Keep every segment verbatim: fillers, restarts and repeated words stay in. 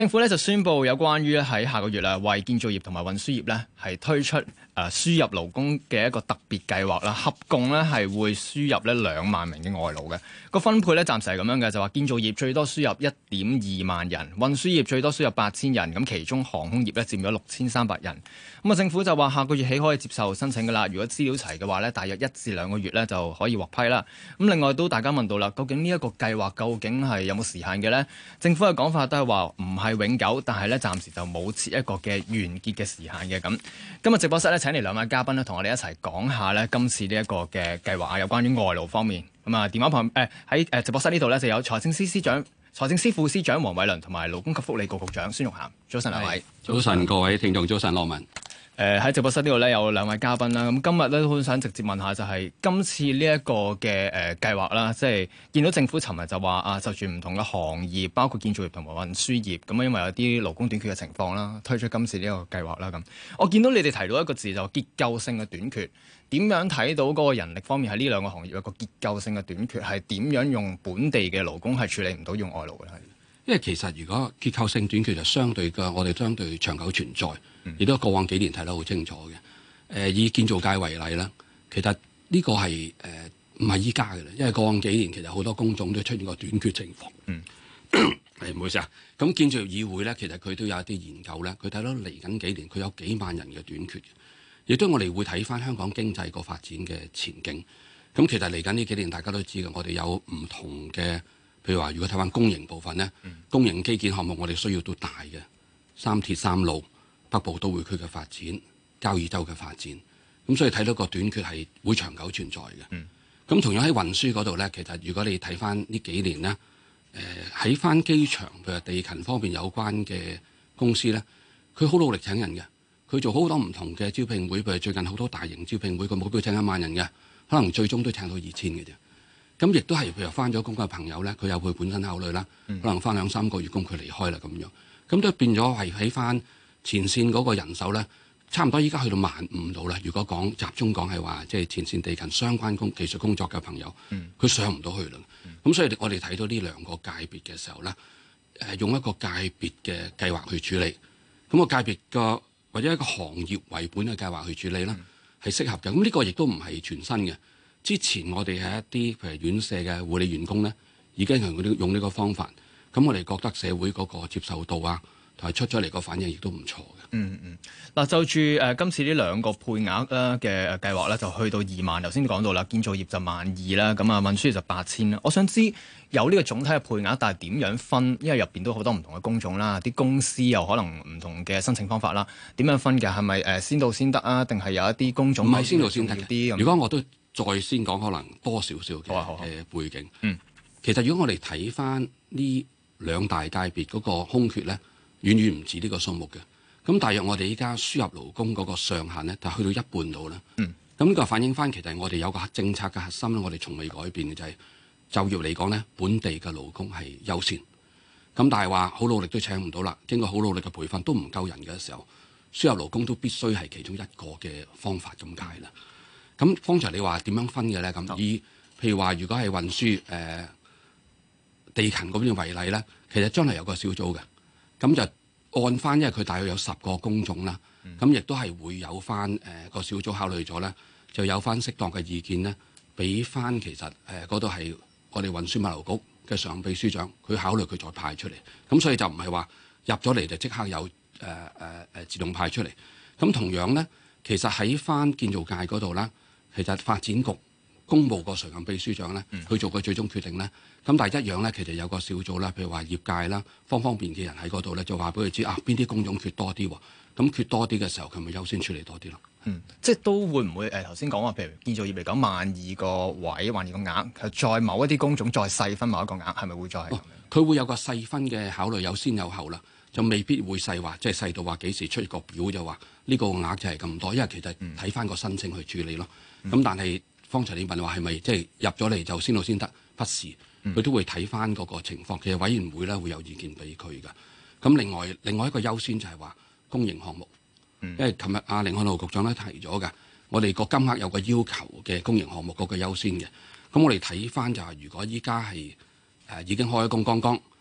政府咧就宣布有關於喺下個月啦，為建造業同埋運輸業咧係推出誒輸入勞工嘅一個特別計劃啦，合共咧係會輸入咧兩萬名嘅外勞嘅。個分配咧暫時係咁樣嘅，就話建造業最多輸入一點二萬人，運輸業最多輸入八千人，咁其中航空業咧佔咗六千三百人。咁啊，政府就話下個月起可以接受申請噶啦，如果資料齊嘅話咧，大約一至兩個月咧就可以獲批啦。咁另外都大家問到啦，究竟呢一個計劃究竟係有冇時限嘅咧？政府嘅講法都係話唔係永久，但係咧暫時就冇設一個嘅完結嘅時限嘅。咁今日直播室咧請嚟兩位嘉賓咧，同我哋一齊講下咧今次呢一個嘅計劃啊，有關於外勞方面。咁啊，電話旁誒喺誒直播室呢度咧就有財政司司長、財政司副司長黃偉綸同埋勞工及福利局局長孫玉菡。早晨兩位。 早晨各位聽眾，早晨羅文。 誒喺、呃、直播室呢度咧有兩位嘉賓啦，咁今日咧都好想直接問下，就係今次呢一個嘅誒計劃啦，即係見到政府尋日就話啊，就住唔同嘅行業，包括建造業同埋運輸業，咁啊因為有啲勞工短缺嘅情況啦，推出今次呢個計劃啦。咁我見到你哋提到一個字就結構性嘅短缺，點樣睇到嗰個人力方面喺呢兩個行業有個結構性嘅短缺，係點樣用本地嘅勞工係處理唔到用外勞嘅咧？ 因為其實如果結構性短缺就相對嘅，我哋相對長久存在，亦都過往幾年睇得好清楚嘅。誒、呃，以建造界為例啦，其實呢個係誒唔係依家嘅啦，因為過往幾年其實好多工種都出現過短缺情況。嗯，係唔好意思啊。咁建造業議會咧，其實佢都有一啲研究咧，佢睇到嚟緊幾年佢有幾萬人嘅短缺嘅，亦都我哋會睇翻香港經濟個發展嘅前景。咁其實嚟緊呢幾年大家都知嘅，我哋有唔同嘅。譬如話，如果睇翻公營部分咧，嗯、公營基建項目我哋需要到大嘅三鐵三路、北部都會區嘅發展、交椅洲嘅發展，咁所以睇到個短缺係會長久存在嘅。咁、嗯、同樣喺運輸嗰度咧，其實如果你睇翻呢幾年咧，誒喺翻機場譬如地勤方面有關嘅公司咧，佢好努力請人嘅，佢做好多唔同嘅招聘會，譬如最近好多大型招聘會，佢目標請一萬人嘅，可能最終都請到二千嘅啫。咁亦都係譬如返咗工嘅朋友咧，佢有佢本身考慮啦，嗯、可能返兩三個月工佢離開啦咁樣，咁都變咗係喺返前線嗰個人手咧，差唔多依家去到萬五度啦。如果講集中講係話，即係前線地勤相關工技術工作嘅朋友，佢、嗯、上唔到去啦。咁、嗯、所以我哋睇到呢兩個界別嘅時候咧，誒用一個界別嘅計劃去處理，咁、個界別個或者一個行業為本嘅計劃去處理啦，係適合嘅。咁呢個亦都唔係全新嘅。之前我哋係一啲譬如院舍嘅護理員工咧，已經係用呢個方法，咁我哋覺得社會嗰個接受度啊，同埋出咗嚟個反應亦都唔錯嘅。 嗯嗯，嗱就住誒、呃、今次呢兩個配額啦嘅計劃咧，就去到二萬。頭先講到啦，建造業就萬二啦，咁啊運輸業就八千啦。我想知有呢個總體嘅配額，但係點樣分？因為入邊都好多唔同嘅工種啦，啲公司又可能唔同嘅申請方法啦，點樣分嘅？係咪誒先到先得啊？定係有一啲工種唔係先到先得啲？ 如果我都再先講可能多少少嘅背景。嗯，其實如果我哋睇翻呢兩大界別嗰個空缺咧，遠遠唔止呢個數目嘅。咁大約我哋依家輸入勞工嗰個上限咧，就去到一半度啦。嗯，咁呢個反映翻其實我哋有個政策嘅核心咧，我哋從未改變嘅就係、是、就業嚟講咧，本地嘅勞工係優先。咁但係話好努力都請唔到啦，經過好努力嘅培訓都唔夠人嘅時候，輸入勞工都必須係其中一個嘅方法咁解啦。咁方才你話點樣分嘅咧？咁以譬如話，如果係運輸誒、呃、地勤嗰邊為例咧，其實將來有個小組嘅，咁就按翻，因為佢大約有十個工種啦，咁亦都係會有翻誒個小組考慮咗咧，就有翻適當嘅意見咧，俾翻其實誒嗰度係我哋運輸物流局嘅常任秘書長，佢考慮佢再派出嚟。咁所以就唔係話入咗嚟就即刻有誒誒誒自動派出嚟。咁同樣咧，其實喺翻建造界嗰度啦。其實發展局公佈個常任秘書長咧，去做個最終決定咧。咁但係一樣咧，其實有個小組啦，譬如話業界啦，方方面嘅人喺嗰度咧，就話俾佢知啊，邊啲工種缺多啲喎。咁缺多啲嘅時候，佢咪優先處理多啲咯。 嗯，即係都會唔會誒頭先講話，譬如建造業嚟講，萬二個位，萬二個額，係再某一啲工種再細分某一個額，係咪會再係咁樣？ 佢、哦、會有個細分嘅考慮，有先有後啦，就未必會細話，即係細到話幾時出個表就話呢個額就係咁多，因為其實睇翻個申請去處理咯。咁、嗯、但係方才你問話係咪即係入咗嚟就先到先得？不是，佢、嗯、都會睇翻嗰個情況。其實委員會咧會有意見俾佢㗎。咁另外另外一個優先就係話公營項目，嗯、因為琴日阿甯漢豪局長咧提咗㗎，我哋個金額有個要求嘅公營項目嗰個優先嘅。咁我哋睇翻就係如果依家係誒已經開工剛剛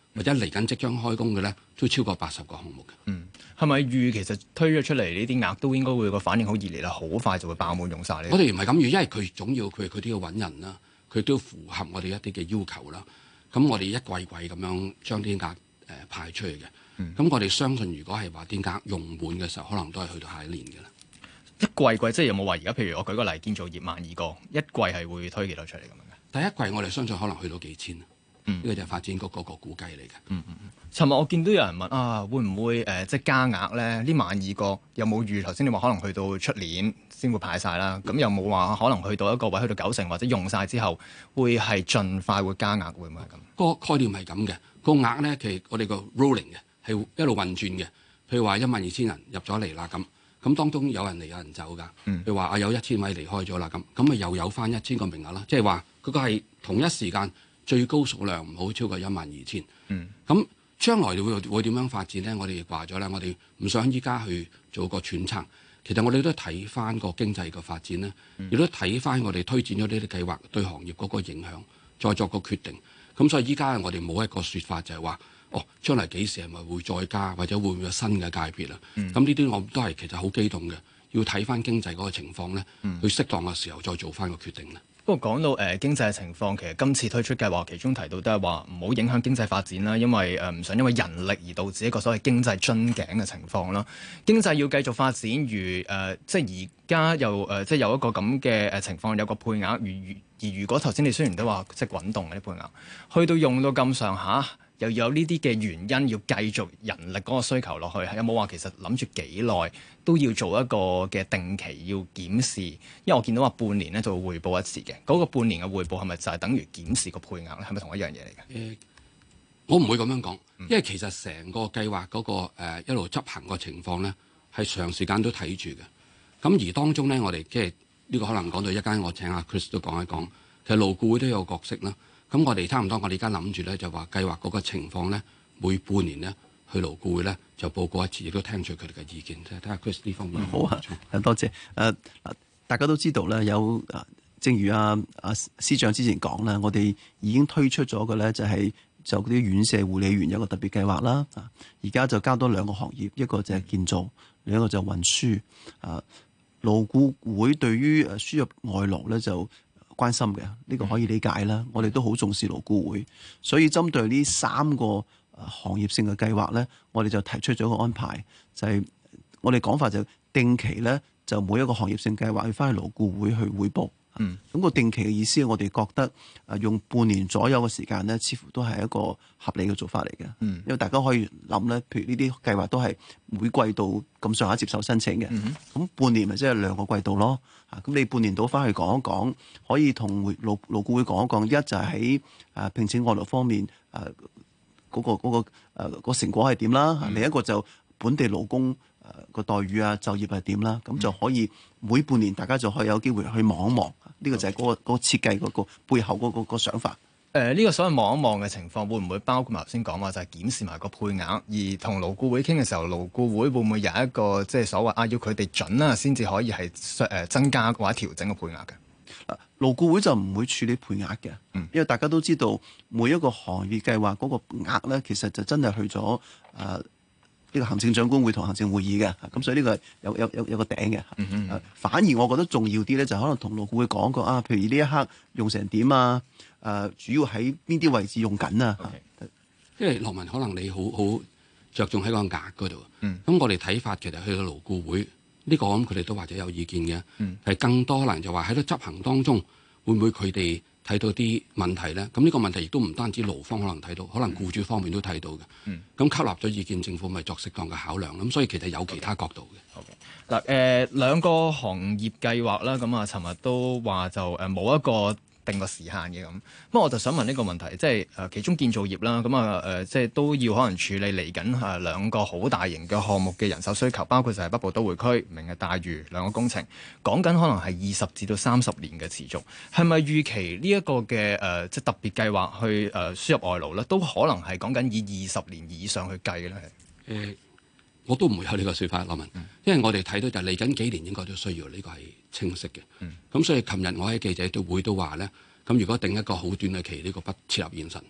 或者嚟緊即將開工嘅咧，都超過八十個項目嘅。 嗯，係咪預其實推咗出嚟呢啲額都應該會個反應好熱烈啦，好快就會爆滿用晒呢？ 我哋唔係咁預，因為佢總要佢佢都要揾人啦，佢都要符合我哋一啲嘅要求啦。咁我哋一季季咁樣將啲額誒派出去嘅。咁、嗯、我哋相信，如果係話啲額用滿嘅時候，可能都係去到下一年嘅啦。 一季季即係有冇話而家？譬如我舉個例，建造業萬二個，一季係會推幾多出嚟咁樣嘅？ 第一季我哋相信可能去到幾千，呢、嗯、個就係發展局嗰個估計嚟嘅。 嗯嗯嗯。尋日我見到有人問啊，會唔會誒、呃、即係加額咧？呢萬二個有冇預？頭先你話可能去到出年先會派晒啦。咁有冇話可能去到一個位去到九成或者用晒之後，會係盡快會加額？會唔會係咁？ 個概念係咁嘅。個額咧，其實我哋個 rolling 嘅係一路運轉嘅。譬如話一萬二千人入咗嚟啦咁。咁當中有人嚟有人走㗎，譬如話啊有一千位離開咗啦，咁咁咪又有翻一千個名額啦，即係話嗰個係同一時間最高數量唔好超過一萬二千。咁將來會會點樣發展咧？我哋亦話咗啦，我哋唔想依家去做個揣測。其實我哋都睇翻個經濟嘅發展咧，亦、嗯、都睇翻我哋推展咗呢啲計劃對行業嗰個影響，再作個決定。咁所以依家我哋冇一個説法就係話。哦，將來幾時係咪會再加，或者會唔會有新嘅界別啊？咁呢啲我都係其實好激動嘅，要睇翻經濟嗰個情況咧，嗯、去適當嘅時候再做翻個決定咧。不過講到誒、呃、經濟嘅情況，其實今次推出計劃，其中提到都係話唔好影響經濟發展啦，因為誒唔、呃、想因為人力而導致一個所謂經濟樽頸嘅情況啦。經濟要繼續發展，如誒、呃、即係而家又誒、呃、即係有一個咁嘅誒情況，有個配額，如而如果頭先你雖然都話即係滾動嘅啲配額，去到用到咁上下。又有呢啲嘅原因要繼續人力嗰個需求落去，有冇話其實諗住幾耐都要做一個嘅定期要檢視？因為我見到話半年咧就會匯報一次嘅，嗰、那個半年嘅匯報係咪就係等於檢視個配額咧？係咪同一樣嘢嚟嘅？誒、呃，我唔會咁樣講，因為其實成個計劃嗰、那個、呃、一路執行個情況咧係長時間都睇住嘅。咁而當中咧，我哋即係呢個可能講到一間，我請阿 Chris 都講一講，其實勞顧會都有角色啦。咁我哋差唔多，我哋而家諗住咧就話計劃嗰個情況咧，每半年咧去勞顧會咧就報告一次，亦都聽取佢哋嘅意見，即係睇下 Chris 呢方面。 好啊，多謝。誒、呃，大家都知道咧，有誒，正如阿阿司長之前講啦，我哋已經推出咗嘅咧就係就啲院舍護理員有個特別計劃啦。啊，而家就加多兩個行業，一個就係建造，另一個就係運輸。啊，勞顧會對於誒輸入外勞咧就關心嘅，呢、這個可以理解啦。我哋都好重視勞顧會，所以針對呢三個行業性嘅計劃咧，我哋就提出咗個安排，就係、是、我哋講法就定期咧，就每一個行業性計劃去翻去勞顧會去彙報。嗯，咁個定期嘅意思，我哋覺得誒用半年左右嘅時間咧，似乎都係一個合理嘅做法嚟嘅。嗯，因為大家可以諗咧，譬如呢啲計劃都係每季度咁上下接受申請嘅。嗯，咁半年咪即係兩個季度咯。啊，咁你半年度翻去講一講，可以同勞勞顧會講一講。一就係喺誒聘請外勞方面誒嗰、啊嗰個嗰、嗰個誒、啊嗰個成果係點啦。嗯、另一個就本地勞工。誒個待遇啊，就業係點啦？咁就可以每半年大家就可以有機會去望一望，呢、這個就係嗰、那個嗰、那個設計嗰個背後嗰、那個、那個想法。誒、呃，呢、這個所謂望一望嘅情況，會唔會包括埋頭先講話就係檢視埋個配額？而同勞顧會傾嘅時候，勞顧會會唔會有一個即係所謂啊，要佢哋準啦，先至可以係誒增加或者調整個配額嘅？啊，勞顧會就唔會處理配額嘅，嗯、因為大家都知道每一個行業計劃嗰個額咧，其實就真係去咗誒。呃呢個行政長官會同行政會議嘅，咁所以呢個係有有有有個頂嘅。嗯嗯、啊。反而我覺得重要啲咧，就可能同勞顧會講過啊，譬如呢一刻用成點啊？誒、啊，主要喺邊啲位置用緊啊？ 因為羅文可能你好好着重喺個額嗰度。嗯。咁我哋睇法其實去到勞顧會呢、呢個，咁佢哋都或者有意見嘅。係、嗯、更多可能就話喺度執行當中，會唔會佢哋睇到啲問題咧？咁呢個問題亦都唔單止勞方可能睇到，可能僱主方面都睇到嘅。咁、嗯、吸納咗意見，政府咪作適當嘅考量。咁所以其實有其他角度嘅。嗱，誒兩個行業計劃啦，咁啊，尋日都話就誒冇一個定個時限嘅咁。不過我就想問呢個問題，即係誒其中建造業啦，咁啊誒即係都要可能處理嚟緊誒兩個好大型嘅項目嘅人手需求，包括就係北部都會區、明日大嶼兩個工程，講緊可能係二十至到三十年嘅持續，係咪預期呢一個嘅誒即係特別計劃去誒輸入外勞咧，都可能係講緊以二十年以上去計嘅咧？誒、呃，我都唔會有呢個説法，羅文，嗯、因為我哋睇到就嚟緊幾年應該都需要呢、呢個係清晰嘅。咁、嗯、所以琴日我喺記者都會都話咧。咁如果定一個好短嘅期，呢、這個不切合現實。咁、嗯、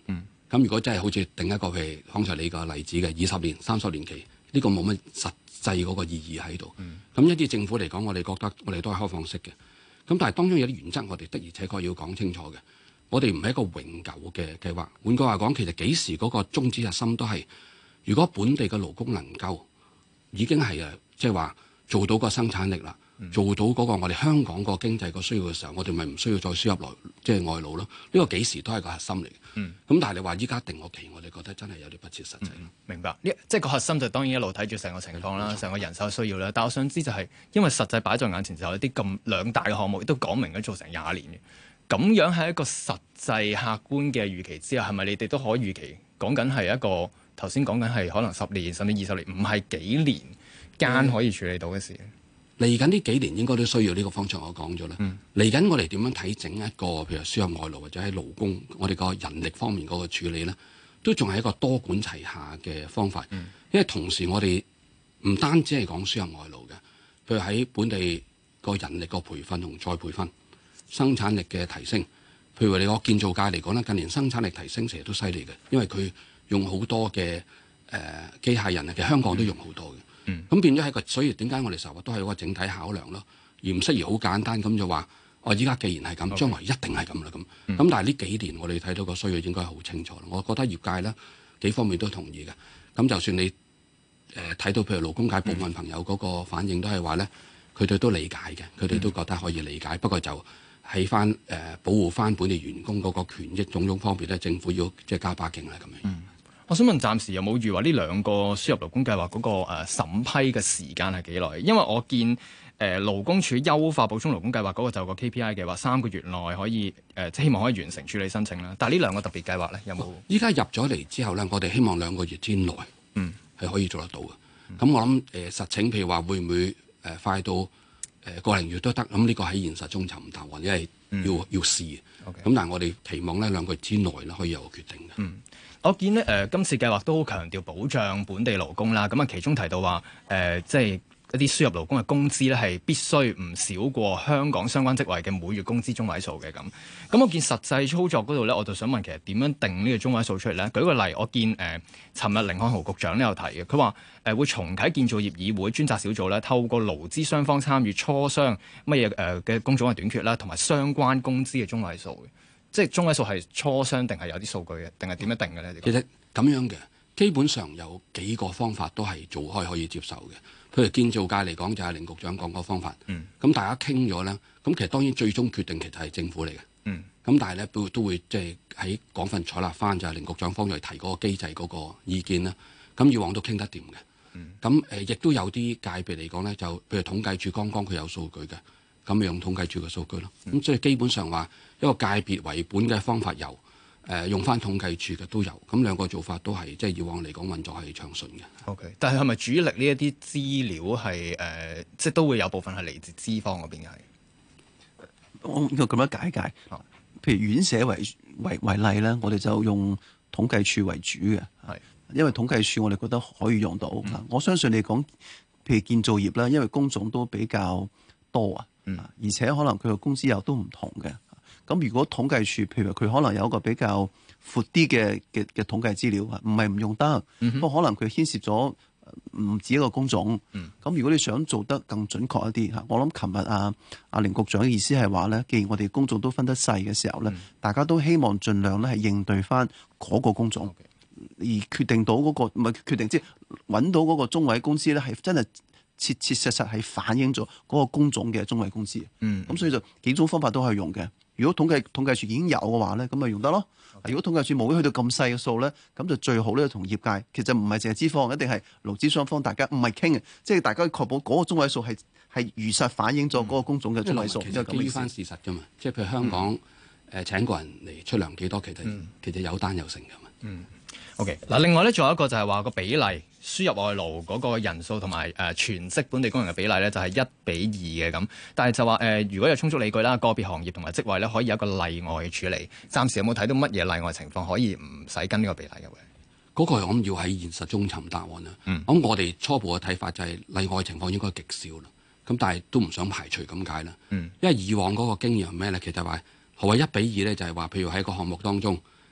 咁如果真係好似定一個譬如剛才你個例子嘅二十年、三十年期，呢、呢個冇乜實際嗰個意義喺度。咁、嗯、一啲政府嚟講，我哋覺得我哋都係開放式嘅。咁但係當中有啲原則，我哋的而且確要講清楚嘅。我哋唔係一個永久嘅計劃。換句話講，其實幾時嗰個宗旨核心都係，如果本地嘅勞工能夠已經係誒，即係話做到個生產力啦。做到嗰個我哋香港個經濟個需要嘅時候，我哋咪唔需要再輸入來即係外勞咯。呢、這個幾時都係個核心嚟嘅。咁、嗯、但係你話依家定個期，我哋覺得真係有啲不切實際、嗯。明白。呢即係個核心就當然一路睇住成個情況啦，成個人手需要啦。但我想知就係、是，因為實際擺在眼前就有啲咁兩大嘅項目，亦都講明咗做成廿年嘅。咁樣喺一個實際客觀嘅預期之下，係咪你哋都可以預期講緊係一個頭先講緊係可能十年甚至二十年，唔係幾年間可以處理到嘅事？嗯嚟緊呢幾年應該都需要呢個方向，我講咗啦。嚟緊、嗯、我哋點樣睇整一個譬如輸入外勞或者喺勞工我哋個人力方面嗰個處理咧，都仲係一個多管齊下嘅方法。嗯、因為同時我哋唔單止係講輸入外勞嘅，譬如喺本地個人力個培訓同再培訓、生產力嘅提升。譬如你個建造界嚟講咧，近年生產力提升成日都犀利嘅，因為佢用好多嘅誒、呃、機械人啊，其實香港都用好多嘅。嗯咁、嗯、變咗係個，所以點解我哋成日都係一個整體考量咯，而唔適宜好簡單咁就話，哦，依家既然係咁，將來一定係咁啦咁。咁、嗯、但係呢幾年我哋睇到個需要應該係好清楚。我覺得業界咧幾方面都同意嘅。咁就算你誒睇、呃、到譬如勞工界部分朋友嗰個反應都係話咧，佢哋都理解嘅，佢哋都覺得可以理解。嗯、不過就喺翻誒保護翻本地員工嗰個權益種種方面咧，政府要即係加把勁啦咁樣。嗯我想問，暫時有冇預話呢兩個輸入勞工計劃嗰個誒審批嘅時間係幾耐？因為我見誒、呃、勞工處優化補充勞工計劃嗰個就個 K P I 嘅話，三個月內可以誒、呃，希望可以完成處理申請啦。但係呢兩個特別計劃咧，有冇？依家入咗嚟之後咧，我哋希望兩個月之內，嗯，係可以做得到嘅。咁、嗯、我諗誒、呃、實情，譬如話會唔會誒、呃、快到誒、呃、個零月都得？咁呢個喺現實中尋唔到，或者係要、嗯、要試嘅。咁 Okay. 但係我哋期望咧兩個月之內咧可以有個決定嘅。嗯我見咧誒、呃，今次計劃都好強調保障本地勞工啦。咁啊，其中提到話誒、呃，即係一啲輸入勞工嘅工資咧，係必須唔少過香港相關職位嘅每月工資中位數嘅咁。咁我見實際操作嗰度咧，我就想問，其實點樣定呢個中位數出嚟咧？舉個例，我見誒，尋、呃、日甯漢豪局長都有提嘅，佢話誒會重啟建造業議會專責小組咧，透過勞資雙方參與磋商乜嘢誒嘅工種嘅短缺啦，同埋相關工資嘅中位數嘅。即係中位數係磋商定係有啲數據嘅，定係點樣定嘅咧？其實咁樣嘅，基本上有幾個方法都係做開可以接受嘅。譬如建造界嚟講，就係甯局長講個方法。嗯。咁大家傾咗咧，咁其實當然最終決定其實係政府嚟嘅。嗯。咁但係咧都都會即係喺廣份採納翻就係甯局長方面提嗰個機制嗰個意見啦。咁以往都傾得掂嘅。嗯。咁誒，亦都有啲界別嚟講咧，就譬如統計處剛剛佢有數據嘅。咁用統計處嘅數據咯，咁所以基本上話一個界別為本嘅方法有，誒、呃、用翻統計處嘅都有，咁兩個做法都係即係以往嚟講運作係暢順嘅。OK，但係係咪主力呢一啲資料係誒、呃，即係都會有部分係嚟自資方嗰邊嘅係？ 我咁樣解解，譬如院舍為為為例咧，我哋就用統計處為主嘅，係是因為統計處我哋覺得可以用到。嗯、我相信你講譬如建造業啦，因為工種都比較多啊。嗯，而且可能佢個工資又都唔同嘅。咁如果統計處，譬如佢可能有一個比較闊啲嘅嘅嘅統計資料啊，唔係唔用得，不過、嗯、哼可能佢牽涉咗唔止一個工種。咁、嗯、如果你想做得更準確一啲嚇，我諗琴日啊阿甯局長嘅意思係話咧，既然我哋工種都分得細嘅時候咧，嗯、大家都希望盡量咧係應對翻嗰個工種，嗯、而決定到嗰、嗰個唔係決定即係揾到嗰個中位工資咧係真係。切切實實係反映咗嗰個工種嘅中位工資，嗯，咁所以就幾種方法都可以用嘅。如果統計統計處已經有嘅話咧，咁咪用得咯。Okay. 如果統計處冇去到咁細嘅數咧，咁就最好咧同業界，其實唔係淨係資方，一定係勞資雙方大家唔係傾嘅，即係大家確保嗰個中位數係係如實反映咗嗰個工種嘅中位數。嗯、其實基於翻事實㗎嘛，即係譬如香港誒、嗯呃、請個人嚟出糧幾多，其實、嗯、其實有單有成㗎嘛。嗯。OK，嗱，另外咧，仲有一個就係話個比例輸入外勞嗰個人數同埋誒全職本地工人嘅比例咧，就係一比二嘅咁。但係就話誒、呃，如果有充足理據啦，個別行業同埋職位咧，可以有一個例外處理。暫時有冇睇到乜嘢例外情況可以唔使跟呢個比例嘅？嗰個我諗要喺現實中尋答案啦。咁、嗯、我哋初步嘅睇法就係例外情況應該極少啦。咁但係都唔想排除咁解啦。嗯、因為以往嗰個經驗係咩咧？其實話何謂一比二咧？就係話譬如喺個項目當中。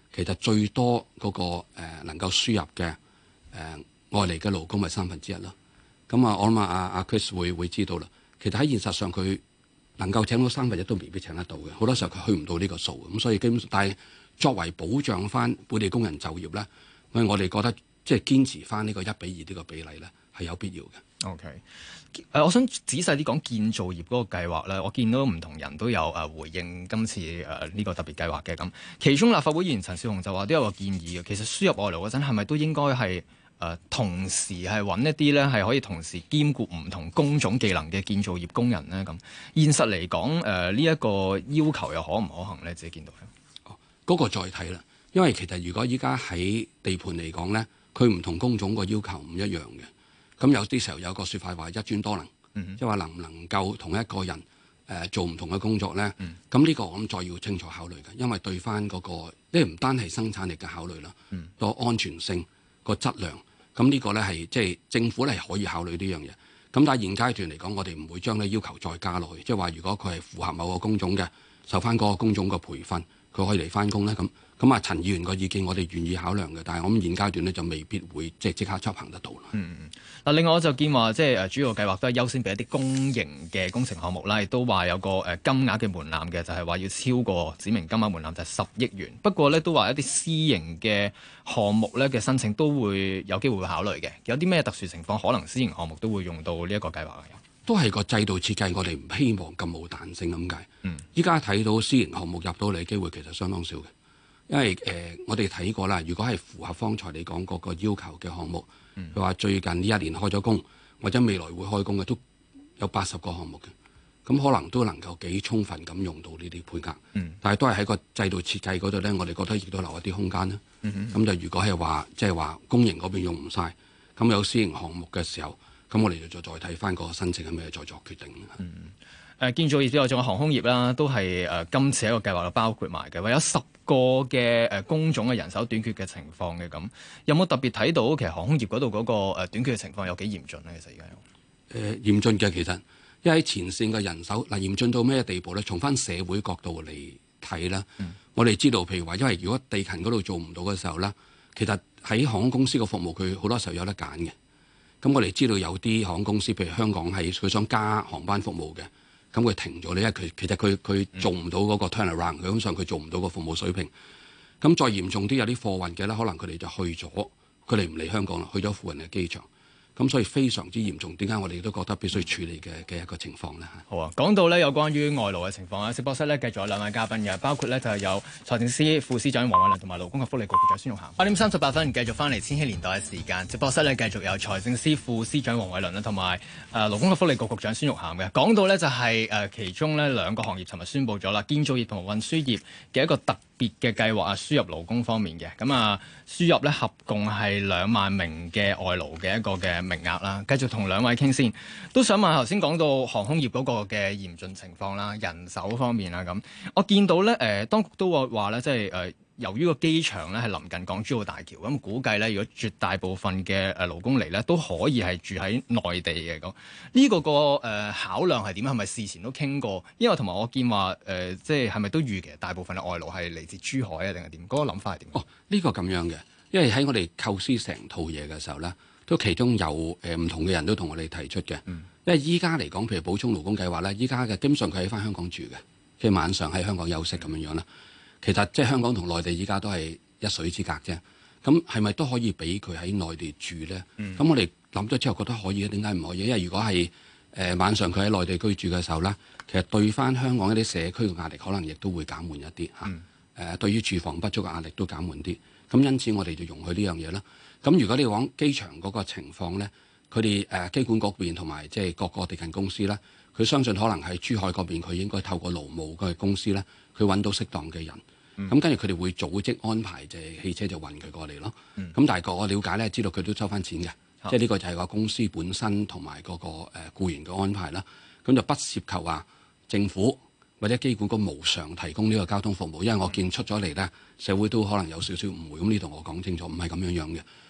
其實最多嗰、那個、呃、能夠輸入嘅誒、呃、外嚟嘅勞工係三分之一啦。咁啊，我諗啊阿阿 Chris 會會知道啦。其實喺現實上佢能夠請到三分一都未必請得到嘅，好多時候佢去唔到呢個數。咁所以基本上，但係作為保障翻本地工人就業咧，所以我哋覺得即係堅持翻呢個一比二呢個比例咧係有必要嘅。 OK，誒、呃，我想仔細啲講建造業嗰個計劃咧，我見到唔同人都有誒、呃、回應今次誒呢、呃這個特別計劃嘅咁。其中立法會議員陳紹雄就話都有個建議嘅，其實輸入外勞嗰陣係咪都應該係誒、呃、同時係揾一啲咧係可以同時兼顧唔同工種技能嘅建造業工人咧咁？現實嚟講誒呢一個要求又可唔可行咧？自己見到咧？ 哦，嗰、那個再睇啦，因為其實如果依家喺地盤嚟講咧，佢唔同工種個要求唔一樣嘅。咁有啲時候有個説法話一專多能，即係話能唔能夠同一個人誒、呃、做唔同嘅工作咧？咁呢、嗯、個我諗再要清楚考慮嘅，因為對翻嗰、那個，即係唔單係生產力嘅考慮啦，個、嗯、安全性、個質量，咁呢個咧係即係政府咧係可以考慮呢樣嘢。咁但係現階段嚟講，我哋唔會將呢要求再加落去，即係話如果佢係符合某個工種嘅，受翻嗰個工種嘅培訓，佢可以嚟翻工咧咁。咁啊，陳議員個意見我哋願意考量嘅，但係我諗現階段咧就未必會即係即刻執行得到啦。 嗯嗯。嗱，另外我就見話即係誒主要計劃都係優先俾一啲公營嘅工程項目啦，亦都話有個誒金額嘅門檻嘅，就係、是、話要超過指明金額門檻就係十億元。不過咧都話一啲私營嘅項目咧嘅申請都會有機會會考慮嘅。有啲咩特殊情況可能私營項目都會用到呢一個計劃嘅？ 都係個制度設計，我哋唔希望咁冇彈性咁解。嗯。依家睇到私營項目入到嚟嘅機會其實相當少嘅。因為誒、呃，我哋睇過啦，如果係符合方才你講嗰個要求嘅項目，佢話、嗯、最近呢一年開咗工，或者未來會開工嘅，都有八十個項目嘅，咁可能都能夠幾充分咁用到呢啲配額。嗯、但係都係喺個制度設計嗰度咧，我哋覺得亦都留一啲空間啦。咁、嗯、哼就如果係話即係話公營嗰邊用唔晒，咁有私營項目嘅時候，咁我哋就再再睇翻個申請係咩，再作決定。嗯誒、呃、建造業之外，仲有航空業啦，都係誒、呃、今次一個計劃包括埋嘅，話有十個嘅誒、呃、工種嘅人手短缺嘅情況嘅咁，有冇特別睇到其實航空業嗰度嗰個、呃、短缺嘅情況有幾嚴峻咧？其實而家有誒嚴峻嘅，其實因為喺前線嘅人手嗱、呃、嚴峻到咩地步咧？從翻社會角度嚟睇啦，嗯、我哋知道譬如話，因為如果地勤嗰度做唔到嘅時候咧，其實喺航空公司個服務佢好多時候有得揀嘅。咁我哋知道有啲航空公司，譬如香港係佢想加航班服務嘅。咁佢停咗咧，因為佢其實佢佢做唔到嗰個 turnaround，佢基本上佢做唔到個服務水平。咁再嚴重啲，有啲貨運嘅咧，可能佢哋就去咗，佢哋唔嚟香港啦，去咗附近嘅機場。咁所以非常之嚴重。點解我哋都覺得必須處理嘅嘅一個情況咧？ 好啊，講到咧有關於外勞嘅情況啊，直播室咧繼續有兩位嘉賓嘅，包括咧就係有財政司副司長黃偉綸同埋勞工及福利局局長孫玉菡。八點三十八分繼續翻嚟千禧年代嘅時間，直播室咧繼續有財政司副司長黃偉綸啦，同埋誒勞工及福利局局長孫玉菡嘅。講到咧就係、是、誒、呃、其中咧兩個行業尋日宣布咗啦，建造業同埋運輸業嘅一個特別嘅計劃啊，輸入勞工方面嘅咁啊，輸入咧合共係兩萬名嘅外勞嘅一個嘅名額啦。繼續同兩位傾先，都想問頭先講到航空業嗰個嘅嚴峻情況啦，人手方面啦咁，我見到咧誒、呃，當局都話話咧，即係誒、呃，由於個機場咧係臨近港珠澳大橋，咁估計咧，如果絕大部分嘅誒勞工嚟咧，都可以係住喺內地嘅咁。呢、這個個誒、呃、考量係點？係咪事前都傾過？因為同埋我見話誒、呃，即係係咪都預期大部分嘅外勞係嚟自珠海啊，定係點？嗰、那個諗法係點？哦， 呢、這個咁樣嘅，因為喺我哋構思成套嘢嘅時候咧。都其中有誒唔、呃、同嘅人都同我哋提出嘅，嗯、因為依家嚟講，譬如補充勞工計劃咧，依家嘅基本上佢喺翻香港住嘅，即係晚上喺香港休息咁樣樣啦。其實即係香港同內地依家都係一水之隔啫。咁係咪都可以俾佢喺內地住咧？咁、嗯、我哋諗咗之後覺得可以，點解唔可以？因為如果係誒、呃、晚上佢喺內地居住嘅時候咧，其實對翻香港一啲社區嘅壓力可能亦都會減緩一啲嚇。誒、嗯呃、對於住房不足嘅壓力都減緩啲。咁因此我哋就容許呢樣嘢啦。咁如果你講機場嗰個情況咧，佢哋誒機管局邊同埋即係各個地勤公司咧，佢相信可能喺珠海嗰邊，佢應該透過勞務嘅公司咧，佢揾到適當嘅人。咁跟住佢哋會組織安排，就係汽車就運佢過嚟咯。咁、嗯、但係個我了解咧，知道佢都收翻錢嘅，嗯、即係呢個就係個公司本身同埋嗰個誒僱員嘅安排啦。咁就不涉及話政府或者機管局無償提供呢個交通服務，因為我見出咗嚟咧，社會都可能有少少誤會。咁呢度我講清楚，唔係咁樣樣嘅。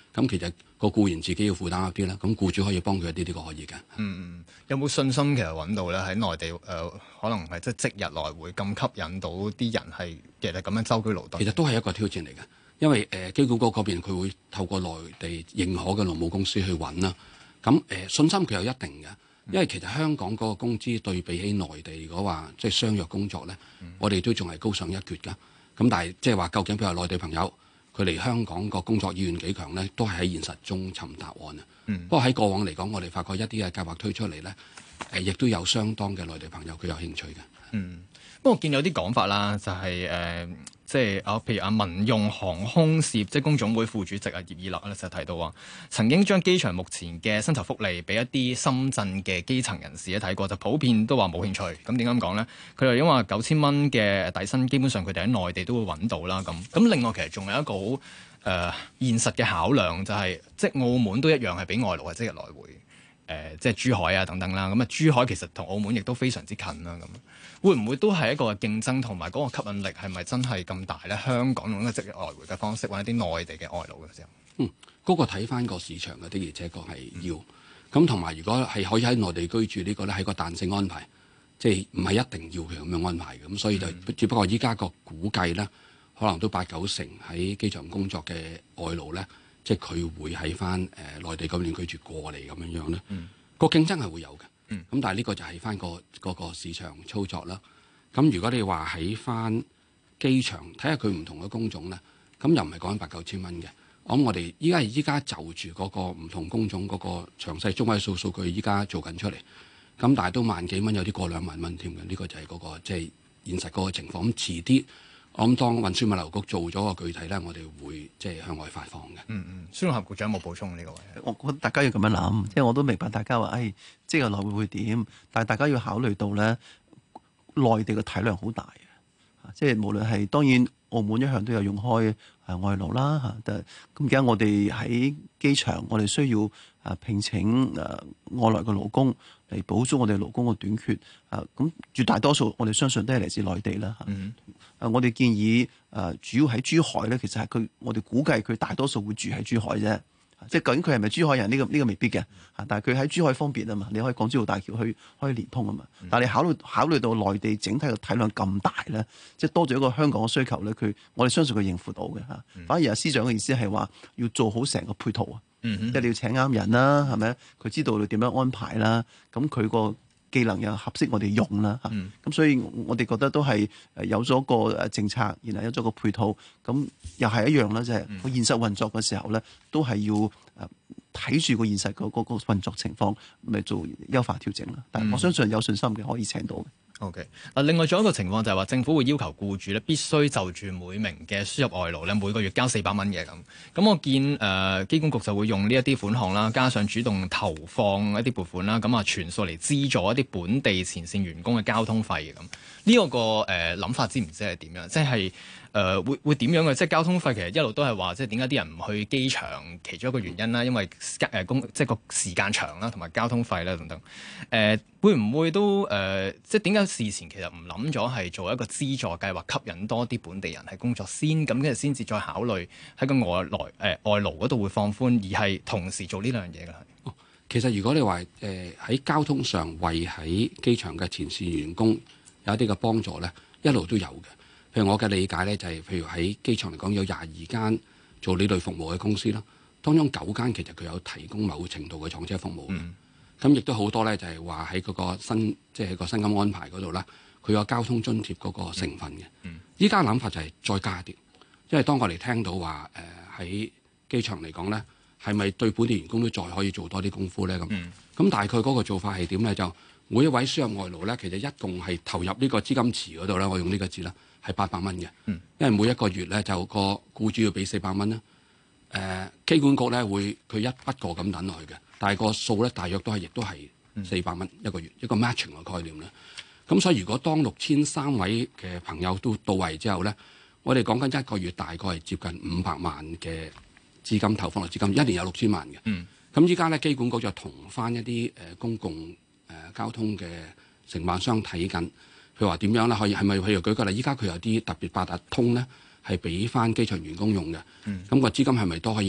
咁其實個僱員自己要負擔一啲啦，咁僱主可以幫佢一啲，呢個可以嘅。 嗯嗯，有冇信心其實揾到咧喺內地誒、呃，可能係即係即日來回咁吸引到啲人係其實咁樣舟車勞頓？ 其實都係一個挑戰嚟嘅，因為誒、呃、機管局嗰邊佢會透過內地認可嘅勞務公司去揾啦。咁誒、呃、信心佢有一定嘅，因為其實香港嗰個工資對比起內地嗰話即係相約工作咧，嗯、我哋都仲係高上一截㗎。咁但係即係話究竟譬如內地朋友佢嚟香港個工作意願幾強咧，都係喺現實中尋答案啊。嗯、不過喺過往嚟講，我哋發覺一啲嘅計劃推出嚟咧，誒亦都有相當嘅內地朋友佢有興趣嘅。 嗯，不過我見有啲講法啦，就係、是、誒。呃即係啊，譬如啊，民用航空事業職工總會副主席啊葉以樂咧就提到話，曾經將機場目前嘅薪酬福利俾一啲深圳嘅基層人士咧睇過，就普遍都話冇興趣。咁點解咁講咧？佢哋因為九千蚊嘅底薪，基本上佢哋喺內地都會揾到啦。咁咁另外其實仲有一個好誒、呃、現實嘅考量，就係、是、即係澳門都一樣係俾外勞係即日來回。誒、呃，即係珠海啊，等等啦。咁啊，珠海其實同澳門亦都非常之近啦。咁會唔會都係一個競爭，同埋嗰個吸引力係咪真係咁大咧？香港用一個即日來回嘅方式揾一啲內地嘅外勞嘅時候， 嗯，嗰、那個睇翻個市場嘅的，而且確係要。咁同埋如果係可以喺內地居住呢個咧，係個彈性安排，即係唔係一定要佢咁樣安排嘅。咁所以就、嗯、只不過依家個估計咧，可能都八九成喺機場工作嘅外勞咧。即係佢會喺翻誒內地嗰邊居住過嚟咁樣樣咧，嗯、個競爭係會有嘅。咁、嗯、但係呢個就係翻個嗰個市場操作啦。咁如果你話喺翻機場睇下佢唔同嘅工種咧，咁又唔係講緊八九千蚊嘅。我諗我哋依家係依家就住嗰個唔同工種嗰個詳細中位數數據依家做緊出嚟。咁但係都萬幾蚊，有啲過兩萬蚊添嘅。呢、呢個就係嗰、嗰個即係、即係、現實嗰個情況。咁遲啲。我諗當運輸物流局做咗個具體咧，我哋會即係向外發放嘅。 嗯嗯，孫玉菡局長有冇補充呢個位？ 我覺得大家要咁樣諗，即係我都明白大家話，誒、哎，即係來回會點？但係大家要考慮到咧，內地嘅體量好大嘅，即係無論係當然澳門一向都有用開誒外勞啦嚇，咁而家我哋喺機場，我哋需要誒聘請誒外來嘅勞工嚟補足我哋勞工嘅短缺啊。咁絕大多數我哋相信都係嚟自內地啦嚇。嗯誒，我哋建議誒主要喺珠海咧，其實係佢，我哋估計佢大多數會住喺珠海啫。即係究竟佢係咪珠海人呢、這個呢、這個未必嘅嚇，但係佢喺珠海方便啊嘛，你可以港珠澳大橋去可以連通啊嘛。但係你考慮考慮到內地整體嘅體量咁大咧，即係多咗一個香港嘅需求咧，佢我哋相信佢應付到嘅嚇。反而阿司長嘅意思係話要做好成個配套啊，即係、嗯、哼你要請啱人啦，係咪？佢知道你點樣安排啦，咁佢個技能又合適我哋用啦嚇，咁、嗯、所以我哋覺得都係誒有咗個誒政策，然後有咗個配套，咁又係一樣啦，就係、是、個現實運作嘅時候咧，都係要誒睇住個現實嗰嗰個運作情況，咪做優化調整啦。但係我相信有信心嘅可以請到嘅。 O.K. 嗱，另外仲有一個情況就係話，政府會要求僱主咧必須就住每名嘅輸入外勞咧每個月交四百蚊嘅咁。咁我見誒機管局就會用呢一啲款項啦，加上主動投放一啲撥款啦，咁啊全數嚟資助一啲本地前線員工嘅交通費嘅咁。呢、這個誒諗、呃、法知唔知係點樣？即係。誒、呃、會會點樣嘅？即係交通費其實一路都係話，即係點解啲人唔去機場？其中一個原因啦，因為誒工、呃、即係個時間長啦，同埋交通費啦等等。誒、呃、會唔會都誒、呃？即係點解事前其實唔諗咗係做一個資助計劃，吸引多啲本地人喺工作先，咁跟住先至再考慮喺個外來誒、呃、外勞嗰度會放寬，而係同時做呢兩樣嘢嘅。 哦，其實如果你話誒喺交通上為喺機場嘅前線員工有一啲嘅幫助咧，一路都有嘅。譬如我嘅理解咧，就係、是、譬如喺機場嚟講，有廿二間做呢類服務嘅公司啦，當中九間其實佢有提供某程度嘅撞車服務嘅。咁亦都好多咧，就係話喺嗰個薪，即係個薪金安排嗰度啦，佢有交通津貼嗰個成分嘅。依家諗法就係再加啲，因為當我哋聽到話誒喺機場嚟講咧，係咪對本地員工都再可以做多啲功夫咧？咁咁、嗯、大概嗰個做法係點咧？就每一位輸入外勞咧，其實一共係投入呢個資金池嗰度咧，我用呢個字啦。係八百蚊嘅，因為每一個月咧就個僱主要俾四百蚊啦。誒、呃，機管局咧會佢一筆過咁等落去嘅，但係個數咧大約都係亦都係四百蚊一個月，一個 matching 嘅概念啦。咁所以如果當六千三位嘅朋友都到位之後咧，我哋講緊一個月大概係接近五百萬嘅資金投放落資金，一年有六千萬嘅。咁依家咧機管局就同翻一啲誒公共誒、呃、交通嘅承辦商睇緊。佢話點樣咧？可以係咪譬如舉個例？依家佢有啲特別八達通咧，係俾翻機場員工用嘅。咁、嗯、個資金係咪都可以咧？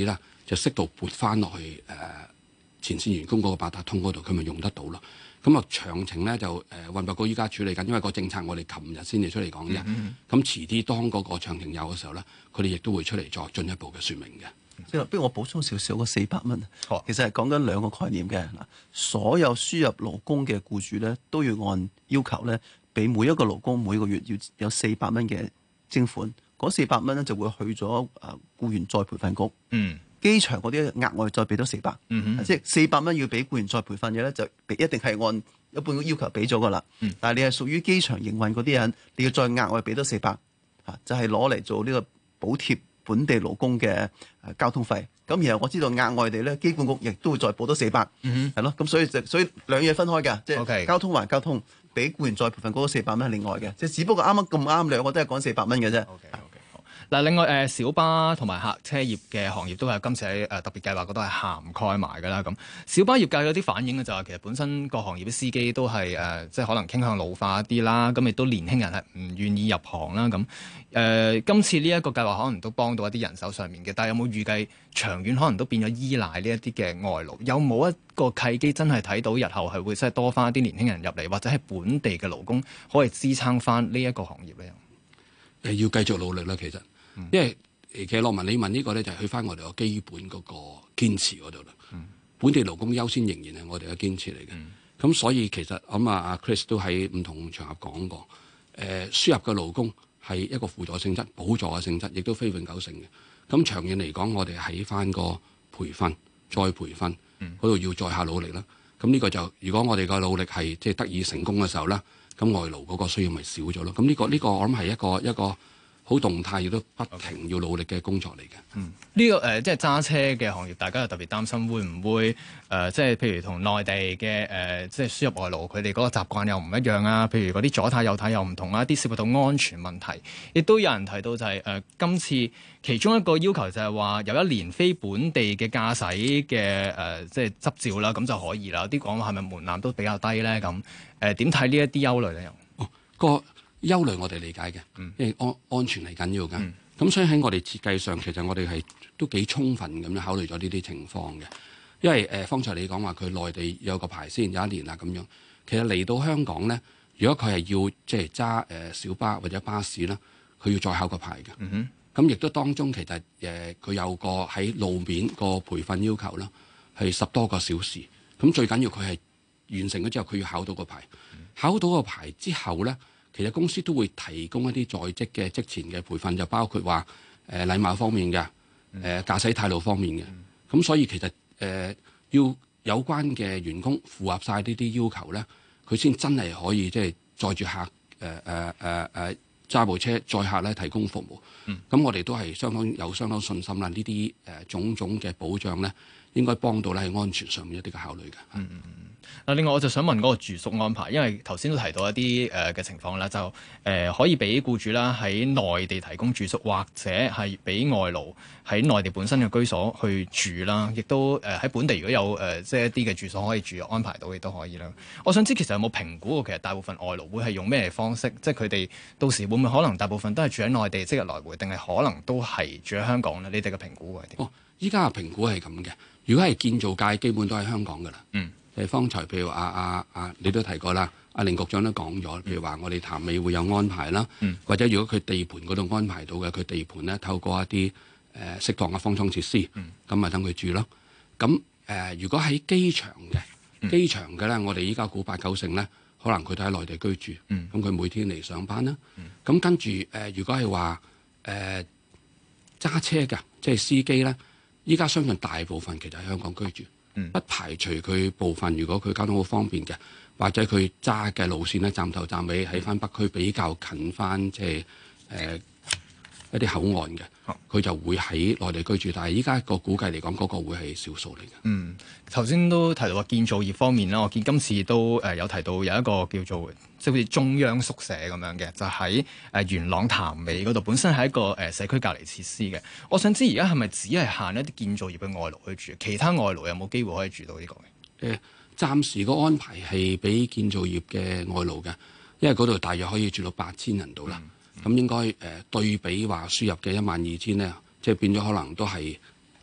就適度撥翻落去誒、呃、前線員工嗰個八達通嗰度，佢咪用得到咯。咁啊詳情咧就誒運輸局依家處理緊，因為個政策我哋琴日先至出嚟講啫。咁、嗯嗯、遲啲當嗰個詳情有嘅時候咧，佢哋亦都會出嚟再進一步嘅説明嘅。 即係不如我補充少少個四百蚊， 哦、 其實係講緊兩個概念嘅嗱。所有輸入勞工嘅僱主咧，都要按要求咧，俾每一個勞工每個月要有四百蚊嘅徵款。嗰四百蚊咧就會去咗誒僱員再培訓局。嗯。機場嗰啲額外再俾多四百，即係四百蚊要俾僱員再培訓嘅咧，就一定係按一般嘅要求俾咗噶啦。嗯、但係你係屬於機場營運嗰啲人，你要再額外俾多四百，嚇就係攞嚟做呢個補貼本地勞工嘅交通費。咁然後我知道額外地咧，機管局亦都會再補多四百，係咯。咁所以就所以兩嘢分開嘅，即係交通還交通，俾僱員再培訓嗰四百蚊係另外嘅，即係只不過啱啱咁啱兩個都係講四百蚊嘅啫。 Okay, okay. 嗱，另外誒小巴同埋客車業嘅行業都係今次喺誒特別計劃嗰度係涵蓋埋㗎啦。咁小巴業界有啲反映嘅就係其實本身個行業嘅司機都係誒即係可能傾向老化一啲啦，咁亦都年輕人係唔願意入行啦。咁誒、呃、今次呢一個計劃可能都幫到一啲人手上面嘅，但係有冇預計長遠可能都變咗依賴呢一啲嘅外勞？有冇一個契機真係睇到日後係會真係多翻一啲年輕人入嚟，或者係本地嘅勞工可以支撐翻呢一個行業咧？ 誒要繼續努力啦，其實。因為其實羅文你問呢個咧，就係去翻我哋個基本嗰個堅持嗰度啦。嗯、本地勞工優先仍然係我哋嘅堅持嚟嘅。咁、嗯、所以其實咁啊，阿 Chris 都喺唔同場合講過，誒、呃、輸入嘅勞工係一個輔助性質、補助嘅性質，亦都非永久性嘅。咁長遠嚟講，我哋喺翻個培訓、再培訓嗰度要再下努力啦。咁呢個就如果我哋個努力係即係得以成功嘅時候啦，咁外勞嗰個需要咪少咗咯。咁呢、呢個呢、呢個我諗係一個一個。好動態，亦都不停要努力嘅工作嚟嘅。 嗯，呢、這個誒、呃、即係揸車嘅行業，大家又特別擔心會唔會誒、呃，即係譬如同內地嘅誒、呃，即係輸入外勞，佢哋嗰個習慣又唔一樣啊。譬如嗰啲左軚右軚又唔同啊，啲涉及到安全問題，亦都有人提到就係、是、誒、呃，今次其中一個要求就係話有一年非本地嘅駕駛嘅誒，即係執照啦，咁就可以啦。啲講話係咪門檻都比較低咧？咁誒點睇呢一啲憂慮咧？又哦個。憂慮我哋理解嘅，因為安安全係緊要㗎。咁、嗯、所以喺我哋設計上，其實我哋係都幾充分咁樣考慮咗呢啲情況嘅。因為誒、呃，方才你講話佢內地有個牌先有一年啦咁樣，其實嚟到香港咧，如果佢係要即係揸誒小巴或者巴士啦，佢要再考個牌嘅。咁亦、嗯、哼都當中其實誒佢、呃、有個喺路面個培訓要求啦，係十多個小時。咁最緊要佢係完成咗之後，佢要考到個牌。嗯、考到個牌之後咧。其實公司都會提供一啲在職嘅職前嘅培訓，就包括話誒、呃、禮貌方面嘅，誒、呃、駕駛態度方面嘅。咁、嗯、所以其實誒、呃、要有關嘅員工符合晒呢啲要求咧，佢先真係可以即係載住客誒誒誒誒揸部車載客咧提供服務。咁、嗯、我哋都係相當有相當信心啦。呢啲誒種種嘅保障咧，應該幫到咧喺安全上面一啲嘅考慮嘅。嗯嗯嗯。 嗱，另外我就想問嗰個住宿安排，因為頭先都提到一啲誒嘅情況啦，就誒、呃、可以俾僱主啦喺內地提供住宿，或者係俾外勞喺內地本身嘅居所去住啦，亦都誒喺、呃、本地如果有誒、呃、即係一啲嘅住所可以住安排到，亦都可以啦。我想知其實有冇評估過，其實大部分外勞會係用咩方式？即係佢哋到時會唔會可能大部分都係住喺內地即日來回，定係可能都係住喺香港咧？你哋嘅評估係點？ 哦，依家嘅評估係咁嘅。如果係建造界，基本都喺香港噶啦。嗯。誒，方才譬如阿阿阿，你都提過啦，阿凌局長都講咗，譬如話我哋潭尾會有安排啦，嗯、或者如果佢地盤嗰度安排到嘅，佢地盤咧透過一啲誒適當嘅方艙設施，咁咪等佢住咯。咁誒、呃，如果喺機場嘅機場嘅咧，我哋依家估八九成咧，可能佢都喺內地居住，咁佢、嗯、每天嚟上班啦。咁、嗯、跟住誒、呃，如果係話誒揸車嘅，即係司機咧，依家相信大部分其實喺香港居住。嗯、不排除佢部分，如果佢交通好方便嘅，或者佢揸嘅路線咧，站頭站尾喺翻北區比較近翻，即係誒一啲口岸嘅，佢、啊、就會喺內地居住。但係依家個估計嚟講，嗰、那個會係少數嚟嘅。嗯， 頭先都提到話建造業方面啦，我見今次都誒有提到有一個叫做即係好似中央宿舍咁樣嘅，就喺誒元朗潭尾嗰度，本身係一個誒社區隔離設施嘅。我想知而家係咪只係限一啲建造業嘅外勞去住，其他外勞有冇機會可以住到呢個嘅？誒、呃，暫時個安排係俾建造業嘅外勞嘅，因為嗰度大約可以住到八千人度啦。咁、嗯、應該誒、呃、對比話輸入嘅一萬二千咧，即係變咗可能都係啱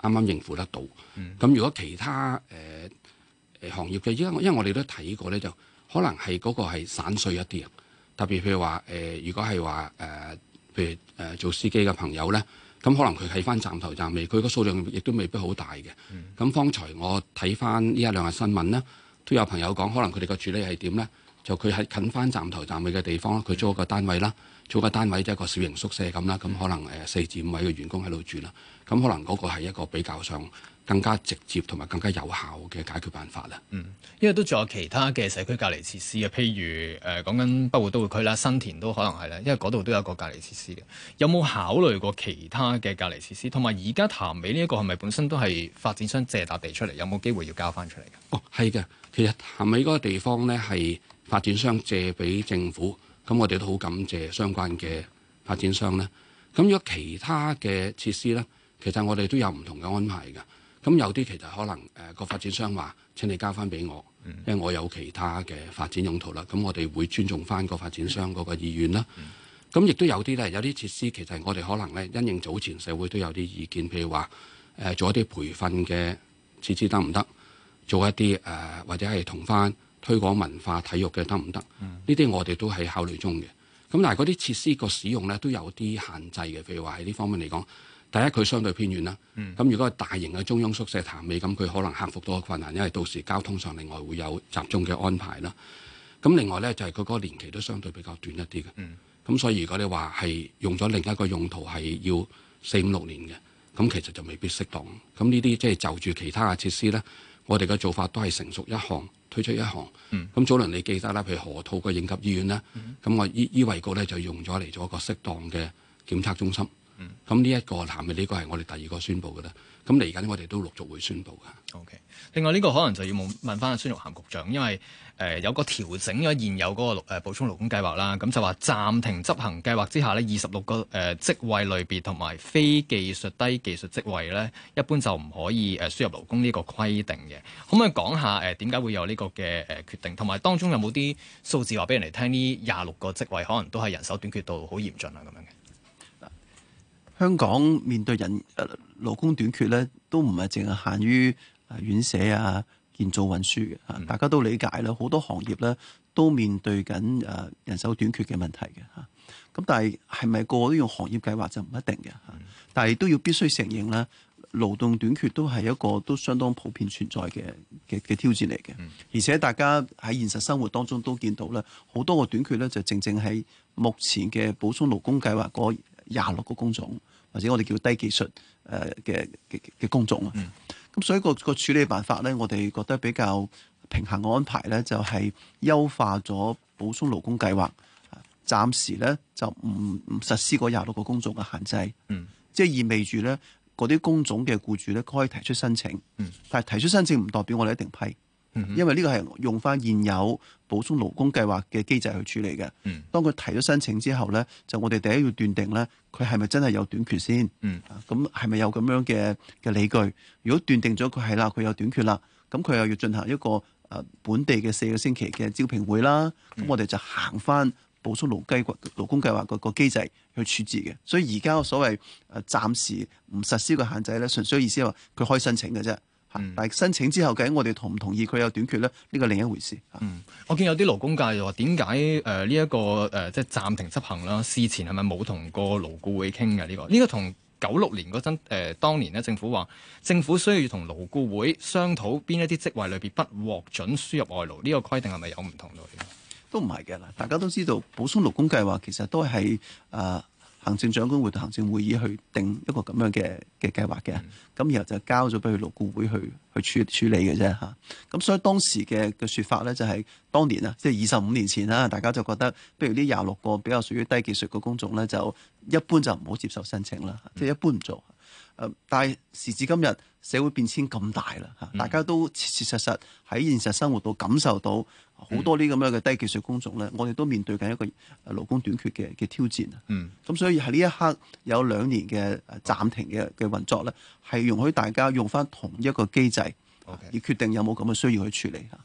啱啱應付得到。咁、嗯、如果其他誒誒、呃、行業嘅，因為因為我哋都睇過咧，就可能係嗰個係散碎一啲啊。特別譬如話誒、呃，如果係話誒，譬如誒、呃、做司機嘅朋友咧，咁可能佢喺翻站頭站尾，佢個數量亦都未必好大嘅。咁、嗯、方才我睇翻呢一兩日新聞咧，都有朋友講，可能佢哋個處理係點咧？就佢喺近翻站頭站尾嘅地方，佢租一個單位啦，租個單位即係一個小型宿舍咁啦，咁可能誒四至五位嘅員工喺度住啦，咁可能嗰個係一個比較上更加直接同埋更加有效嘅解決辦法啦。 嗯，因為都仲有其他嘅社區隔離設施嘅，譬如誒講緊北部都會區啦，新田都可能係啦，因為嗰度都有個隔離設施嘅。有冇考慮過其他嘅隔離設施？同埋而家潭尾呢一個係咪本身都係發展商借笪地出嚟？有冇機會要交翻出嚟嘅？ 哦，係嘅，其實潭尾嗰個地方咧係發展商借俾政府，咁我哋都好感謝相關嘅發展商咧。咁如果其他嘅設施咧，其實我哋都有唔同嘅安排嘅。咁有啲其實可能誒個、呃、發展商話請你交翻俾我，因為我有其他嘅發展用途啦。咁我哋會尊重翻個發展商嗰個意願啦。咁亦都有啲咧，有啲設施其實我哋可能咧因應早前社會都有啲意見，譬如話誒、呃、做一啲培訓嘅設施得唔得？做一啲誒、呃、或者係同翻推廣文化體育嘅得唔得？呢啲、嗯、我哋都係考慮中嘅。咁但係嗰啲設施個使用咧都有啲限制嘅。譬如話喺呢方面嚟講，第一佢相對偏遠啦。咁、嗯、如果係大型嘅中央宿舍潭尾，咁佢可能克服到個困難，因為到時交通上另外會有集中嘅安排啦。咁另外咧就係佢嗰個年期都相對比較短一啲嘅。咁、嗯、所以如果你話係用咗另一個用途係要四五六年嘅，咁其實就未必適當。咁呢啲即係就住其他嘅設施咧，我哋嘅做法都係成熟一項推出一項。咁、嗯、早輪你記得啦，譬如河套嘅應急醫院咧，咁、嗯、我醫醫衞局咧就用咗嚟做一個適當嘅檢測中心。咁呢一個談嘅呢個係我哋第二個宣佈嘅啦。咁嚟緊我哋都陸續會宣佈嘅。 OK。另外呢個可能就要問問翻阿孫玉菡局長，因為誒、呃、有個調整咗現有嗰、那個誒、呃、補充勞工計劃啦。咁就話暫停執行計劃之下呢，二十六個誒、呃、職位類別同埋非技術低技術職位咧，一般就唔可以誒、呃、輸入勞工呢個規定嘅。可唔可以講下誒點解會有呢個嘅誒、呃、決定？同埋當中有冇啲數字話俾人哋聽？呢廿六個職位可能都係人手短缺到好嚴峻啊咁樣嘅。 香港面對人誒勞工短缺咧，都唔係淨係限於誒院舍啊、建造運輸嘅嚇，嗯、大家都理解啦。好多行業咧都面對緊誒人手短缺嘅問題嘅嚇。咁但係係咪個個都用行業計劃就唔一定嘅嚇？嗯、但係都要必須承認咧，勞動短缺都係一個都相當普遍存在嘅嘅嘅挑戰嚟嘅。嗯、而且大家喺現實生活當中都見到咧，好多個短缺咧就正正係目前嘅補充勞工計劃嗰廿六個工種，或者我哋叫低技術誒嘅嘅嘅工種啊。咁、嗯、所以個個處理辦法咧，我哋覺得比較平衡嘅安排咧，就係優化咗補充勞工計劃，暫時咧就唔唔實施嗰廿六個工種嘅限制。嗯，即係意味住咧嗰啲工種嘅僱主咧可以提出申請。嗯，但係提出申請唔代表我哋一定批。因為呢個係用翻現有補充勞工計劃嘅機制去處理嘅。嗯，當佢提咗申請之後咧，就我哋第一要斷定咧，佢係咪真係有短缺先？嗯，咁係咪有咁樣嘅嘅理據？如果斷定咗佢係啦，佢有短缺啦，咁佢又要進行一個誒本地嘅四個星期嘅招聘會啦。咁、嗯、我哋就行翻補充勞計勞工計劃個個機制去處置嘅。所以而家所謂誒暫時唔實施個限制咧，純粹意思係話佢可以申請嘅啫。嗯、但係申請之後，究竟我哋同唔同意佢有短缺咧？呢個另一回事。 嗯，我見有啲勞工界就話點解誒呢一個誒、呃、即係暫停執行啦？事前係咪冇同過勞顧會傾嘅呢個？呢、呢個同九六年嗰陣誒當年咧，政府話政府需要同勞顧會商討邊一啲職位裏邊不獲准輸入外勞，呢、呢個規定係咪有唔同到？ 都唔係嘅啦，大家都知道補充勞工計劃其實都係誒。呃行政長官會同行政會議去定一個咁樣嘅嘅計劃嘅，咁、嗯、然後就交咗俾佢勞顧會去去處處理嘅啫嚇。咁所以當時嘅嘅説法咧，就係當年啊，即係二十五年前啦，大家就覺得，不如呢廿六個比較屬於低技術嘅工種咧，就一般就唔好接受申請啦，即係、嗯、一般唔做。誒，但係時至今日社會變遷咁大啦嚇，大家都切切實實喺現實生活度感受到好多呢咁樣嘅低技術工種咧，我哋都面對緊一個勞工短缺嘅嘅挑戰啊。嗯，咁所以喺呢一刻有兩年嘅暫停嘅嘅運作咧，係容許大家用翻同一個機制，而決定有冇咁嘅需要去處理嚇。嗯。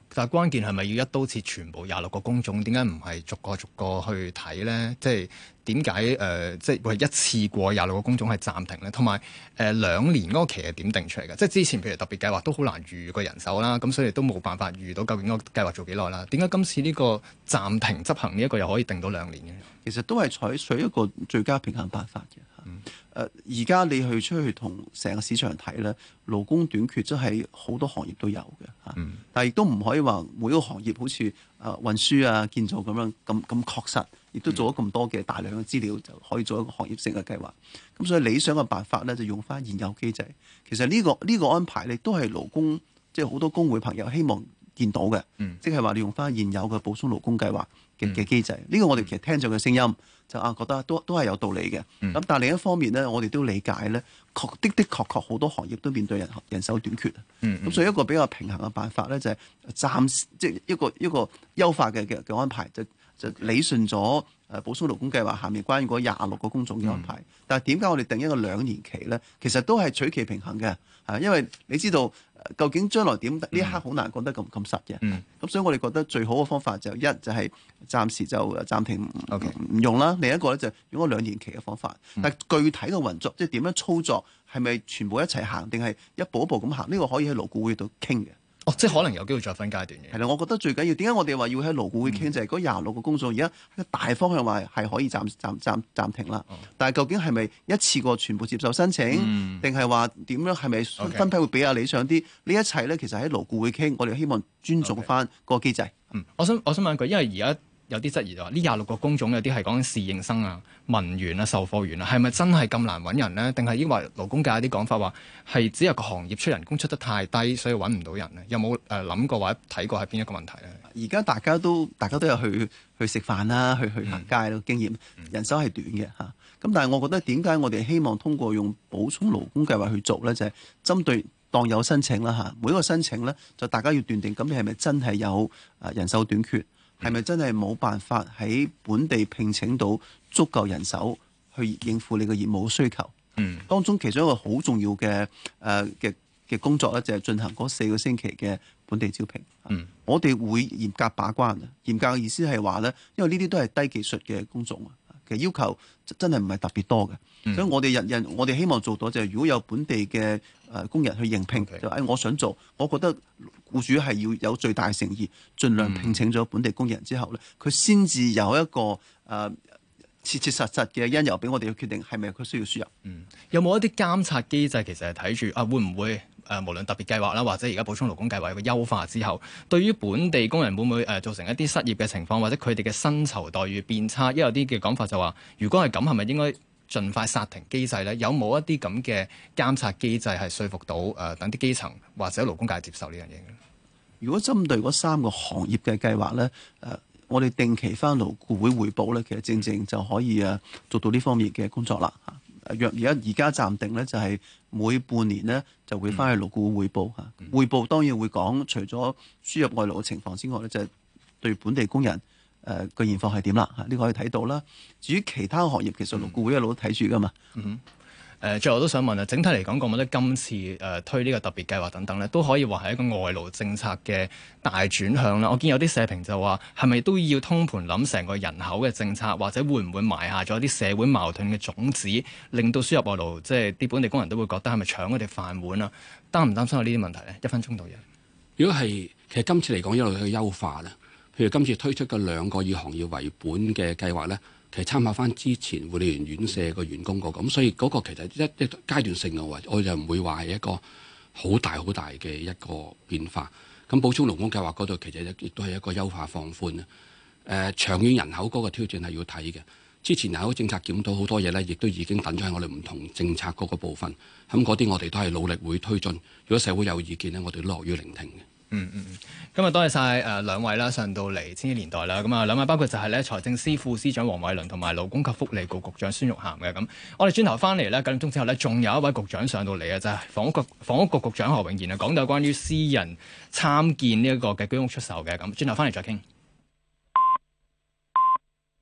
但係關鍵係咪要一刀切全部廿六個工種？點解唔係逐個逐個去睇咧？即係點解誒？即係會一次過廿六個工種係暫停咧？同埋誒兩年嗰個期係點定出嚟嘅？即係之前譬如特別計劃都好難預個人手啦，咁所以都冇辦法預到究竟個計劃做幾耐啦。點解今次呢個暫停執行呢一個又可以定到兩年嘅？ 其實都係採取一個最佳平衡辦法嘅。嗯誒而家你去出去同成個市場睇咧，勞工短缺真係好多行業都有嘅嚇，嗯、但係亦都唔可以話每個行業好似誒運輸啊、建造咁樣咁咁確實，亦都做咗咁多嘅大量嘅資料就可以做一個行業性嘅計劃。咁所以理想嘅辦法咧就用翻現有機制。其實呢、呢個呢、呢個安排咧都係勞工即係好多工會朋友希望見到嘅，嗯、即係話你用翻現有嘅補充勞工計劃嘅嘅機制。呢、嗯、個我哋其實聽咗嘅聲音。就啊覺得都都係有道理嘅，咁、嗯、但係另一方面咧，我哋都理解咧，確的的確確好多行業都面對人人手短缺啊。咁、嗯嗯、所以一個比較平衡嘅辦法咧，就係、是、暫時即係一個一個優化嘅嘅嘅安排，就就理順咗誒補充勞工計劃下面關於嗰廿六個工種嘅安排。嗯、但係點解我哋定一個兩年期咧？其實都係取其平衡嘅，係因為你知道。究竟將來點？呢一刻好難講得咁咁實嘅。咁、嗯、所以我哋覺得最好嘅方法就一就係暫時就暫停唔 Okay. 用啦。另一個咧就用咗兩年期嘅方法。嗯、但係具體嘅運作，即係點樣操作，係咪全部一齊行，定係一步一步咁行？呢、呢個可以喺勞顧會度傾嘅。 哦，即係可能有機會再分階段嘅。 係啦，我覺得最緊要點解我哋話要喺勞顧會傾，嗯、就係嗰廿六個工種，而家大方向話係可以暫暫暫暫停啦。哦、但係究竟係咪一次過全部接受申請，定係話點樣？係咪分批會比較理想啲？呢 Okay. 一切咧，其實喺勞顧會傾，我哋希望尊重翻個機制。Okay. 嗯， 我想我想問一句，因為而家。有啲質疑就話呢廿六個工種有啲係講緊侍應生啊、文員啊、售貨員啊，係咪真係咁難揾人呢？定係因為勞工界有啲講法話係只有個行業出人工出得太低，所以揾唔到人呢？有冇誒諗過或者睇過係邊一個問題呢？ 而家大家都大家都有去去食飯啦，去去行街咯，嗯、經驗人手係短嘅嚇。咁、嗯、但係我覺得點解我哋希望通過用補充勞工計劃去做呢？就係、是、針對當有申請啦嚇，每一個申請呢，就大家要斷定咁你係咪真係有誒人手短缺？係咪真係冇辦法喺本地聘請到足夠人手去應付你嘅業務需求？嗯，當中其中一個好重要嘅誒嘅嘅工作咧，就係進行嗰四個星期嘅本地招聘。嗯，我哋會嚴格把關啊！嚴格嘅意思係話咧，因為呢啲都係低技術嘅工種啊，其實要求真係唔係特別多嘅。嗯、所以我哋人人我哋希望做到就係，如果有本地嘅誒工人去應聘，Okay. 就誒我想做，我覺得僱主係要有最大誠意，盡量聘請咗本地工人之後咧，佢先至有一個誒、呃、切切實實嘅因由俾我哋去決定係咪佢需要輸入。 嗯，有冇一啲監察機制？其實係睇住啊，會唔會誒、呃、無論特別計劃啦，或者而家補充勞工計劃嘅優化之後，對於本地工人會唔會誒、呃、造成一啲失業嘅情況，或者佢哋嘅薪酬待遇變差？因為有啲嘅講法就話，如果係咁，係咪應該盡快煞停機制咧？有冇一啲咁嘅監察機制係說服到誒、呃、等啲基層或者勞工界接受呢樣嘢嘅？ 如果針對嗰三個行業嘅計劃咧，誒、呃，我哋定期翻勞顧會彙報咧，其實正正就可以誒做到呢方面嘅工作啦。嚇，若而家而家暫定咧，就係每半年咧就會翻去勞顧會彙報嚇。彙、嗯、報當然會講，除咗輸入外勞嘅情況之外咧，就係、是、對本地工人誒個現況係點啦嚇，呢、這個可以睇到啦。至於其他行業，其實勞顧會一路都睇住噶嘛。嗯嗯誒、呃，最後我都想問啊，整體嚟講，覺得今次誒、呃、推呢個特別計劃等等咧，都可以話係一個外勞政策嘅大轉向啦。我見有啲社評就話，係咪都要通盤諗成個人口嘅政策，或者會唔會埋下咗啲社會矛盾嘅種子，令到輸入外勞即係啲本地工人都會覺得係咪搶佢哋飯碗啊？擔唔擔心有呢啲問題咧？一分鐘到嘢。如果係其實今次嚟講一路去優化咧，譬如今次推出嘅兩個以行業為本嘅計劃咧。其實參考翻之前護理員院舍個員工個咁，所以嗰個其實一一階段性嘅話，我就唔會話係一個好大好大嘅一個變化。咁補充勞工計劃嗰度其實亦都係一個優化放寬啊。誒、呃，長遠人口嗰個挑戰係要睇嘅。之前人口政策檢討好多嘢咧，亦都已經等咗喺我哋唔同政策嗰個部分。咁嗰啲我哋都係努力會推進。如果社會有意見咧，我哋都樂於聆聽嘅。 嗯嗯嗯，今日多謝晒誒兩位啦，上到嚟千禧年代啦，咁啊兩位包括就係咧財政司副司長黃偉綸同埋勞工及福利局局長孫玉菡嘅。咁我哋轉頭翻嚟咧，九點鐘之後咧，仲有一位局長上到嚟嘅，就係、是、房屋局房屋局局長何永賢啊，講到關於私人參建呢一個嘅居屋出售嘅。咁轉頭翻嚟再傾。